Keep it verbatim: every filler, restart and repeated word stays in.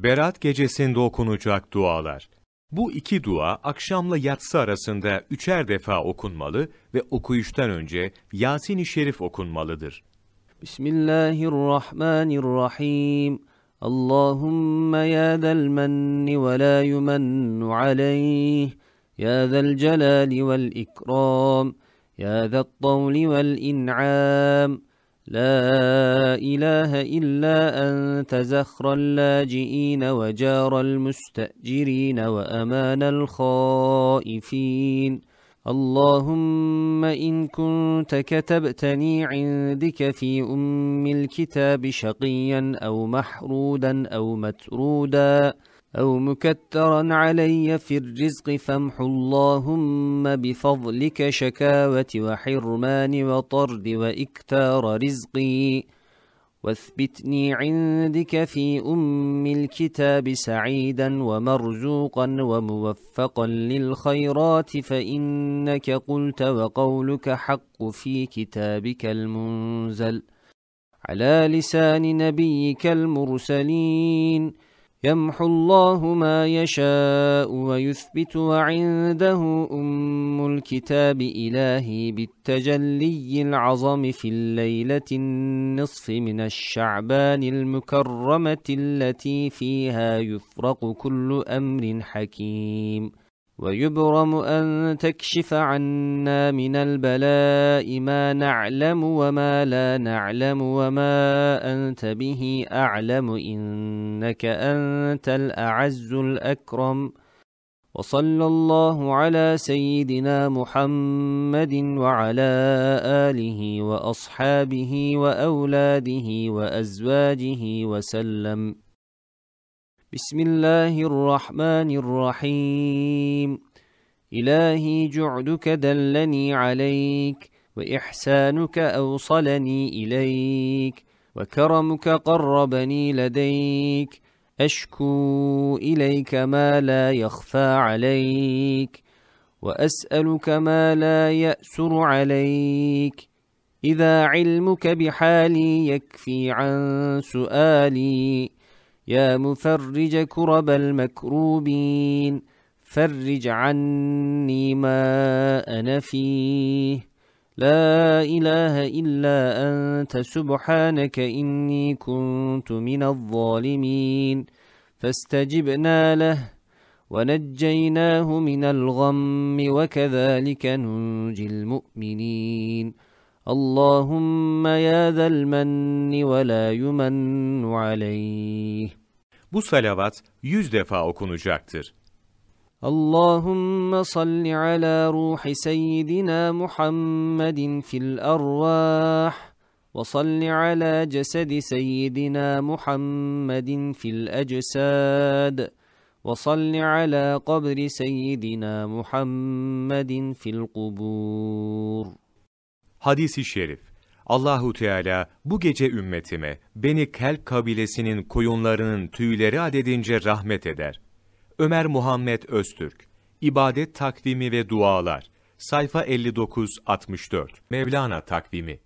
Berat gecesinde okunacak dualar. Bu iki dua akşamla yatsı arasında üçer defa okunmalı ve okuyuştan önce Yasin-i Şerif okunmalıdır. Bismillahirrahmanirrahim. Allahümme ya zel menni ve la yumennu aleyh, ya zel celali vel ikram, ya zel tavli vel in'am. لا إله إلا أنت زخر اللاجئين وجار المستأجرين وأمان الخائفين. اللهم إن كنت كتبتني عندك في أم الكتاب شقيا أو محرودا أو مترودا أو مكترا علي في الرزق فامح اللهم بفضلك شكاوة وحرمان وطرد وإكتار رزقي، واثبتني عندك في أم الكتاب سعيدا ومرزوقا وموفقا للخيرات، فإنك قلت وقولك حق في كتابك المنزل على لسان نبيك المرسلين. يمحو الله ما يشاء ويثبت وعنده أم الكتاب إلهي بالتجلي العظم في الليلة النصف من الشعبان المكرمة التي فيها يفرق كل أمر حكيم، ويبرم أن تكشف عنا من البلاء ما نعلم وما لا نعلم وما أنت به أعلم، إنك أنت الأعز الأكرم. وصلى الله على سيدنا محمد وعلى آله وأصحابه وأولاده وأزواجه وسلم. بسم الله الرحمن الرحيم. إلهي جعدك دلني عليك، وإحسانك أوصلني إليك، وكرمك قربني لديك. أشكو إليك ما لا يخفى عليك، وأسألك ما لا يأسر عليك. إذا علمك بحالي يكفي عن سؤالي، يا مفرج كرب المكروبين فرج عني ما أنا فيه. لا إله إلا أنت سبحانك إني كنت من الظالمين. فاستجبنا له ونجيناه من الغم، وكذلك ننجي المؤمنين. اللهم يا ذا المن ولا يمن عليه. Bu salavat yüz defa okunacaktır. اللهم صل على روح سيدنا محمد في الأرواح، وصل على جسد سيدنا محمد في الأجساد، وصل على قبر سيدنا محمد في القبور. Hadis-i şerif. Allahu Teala bu gece ümmetime Beni Kelb kabilesinin koyunlarının tüyleri adedince rahmet eder. Ömer Muhammed Öztürk. İbadet takvimi ve dualar. Sayfa elli dokuz altmış dört. Mevlana takvimi.